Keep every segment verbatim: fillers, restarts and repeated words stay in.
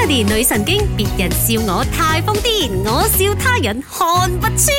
Melody 女神經，別人笑我太瘋癲，我笑他人看不穿。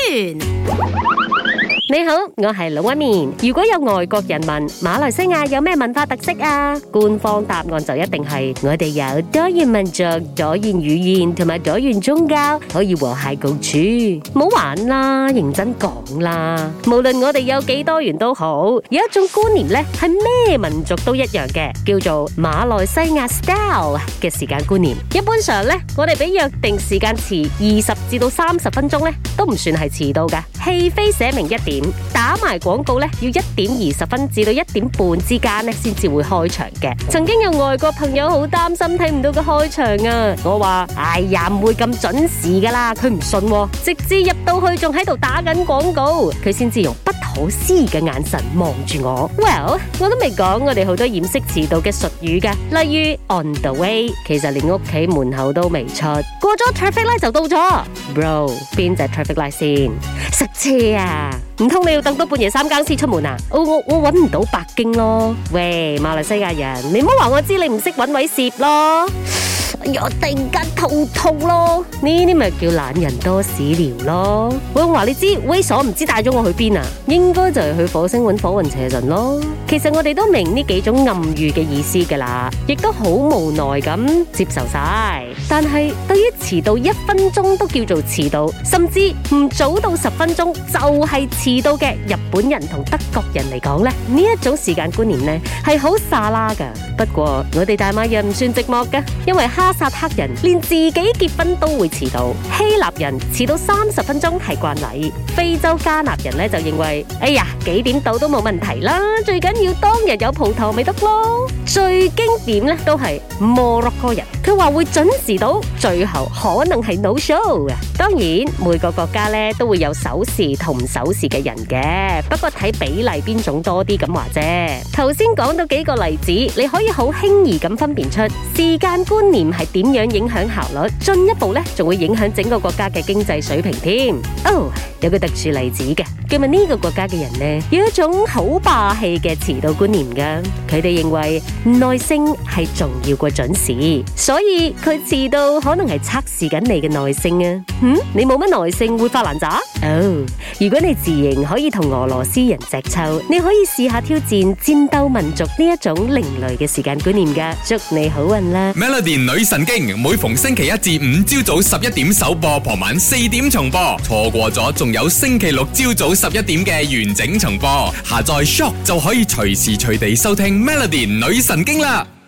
你好，我係老一面。如果有外國人問馬來西亞有咩文化特色啊，官方答案就一定係我哋有多元民族、多元語言同埋多元宗教，可以和諧共處。唔好玩啦，認真講啦。無論我哋有幾多元都好，有一種觀念咧係咩民族都一樣嘅，叫做馬來西亞 style 嘅時間觀念。一般上咧，我哋比約定時間遲二十至到三十分鐘咧，都唔算係遲到㗎。戲飛寫明一點。打埋廣告咧，要一點二十分至到一點半之間咧，先至會開場嘅。曾經有外國朋友好擔心睇唔到個開場啊，我話：哎呀，唔會咁準時噶啦，佢唔信喎，直至入到去仲喺度打緊廣告，佢先至用不可思議嘅眼神望住我。Well， 我都未講我哋好多掩飾遲到嘅術語噶，例如 on the way， 其實連屋企門口都未出，過咗 traffic light 就到咗。Bro， 邊隻 traffic light 先？塞車啊！唔通你要等到半夜三更先出門啊？我我我搵唔到北京咯。喂，馬來西亞人，你唔好話我知你唔識搵位攝咯。哎呀，突然間肚痛咯，呢啲咪叫懶人多屎尿咯。我話你知，猥瑣唔知帶咗我去邊啊？應該就係去火星搵火雲邪神咯。其實我哋都明呢幾種暗喻嘅意思噶啦，亦都好無奈咁接受晒。但係對於遲到一分鐘都叫做遲到，甚至唔早到十分鐘就係遲到嘅日本人同德國人嚟講咧，呢一種時間觀念咧係好沙拉噶。不過我哋大馬人唔算寂寞噶，因為哈薩克人連自己結婚都會遲到，希臘人遲到三十分鐘係慣例，非洲加納人咧就認為，哎呀，幾點到都冇問題啦，最緊要當日有蒲頭咪得咯。最經典咧都係摩洛哥人，佢話會準時到，最後可能係 no show 嘅。當然每個國家咧都會有守時同唔守時嘅人嘅，不過睇比例邊種多啲咁話啫。頭先講到幾個例子，你可以好輕易咁分辨出時間觀念係點樣影響效率，進一步咧仲會影響整個國家嘅經濟水平添。哦，有個特殊例子嘅，據聞呢個國家嘅人呢有一種好霸氣嘅遲到觀念噶，佢哋認為耐性係重要過準時，所以佢遲到可能係測試緊你嘅耐性啊。嗯，你冇乜耐性會發爛渣？哦，如果你自認可以同俄羅斯人隻揪，你可以試下挑戰戰鬥民族呢一種另類嘅時間觀念噶。祝你好運啦 ！Melody 女神經每逢星期一至五朝早十一點首播，傍晚四點重播，錯過咗仲有星期六朝早十一點嘅完整重播。下載 Shock 就可以隨時隨地收聽 Melody 女神經啦！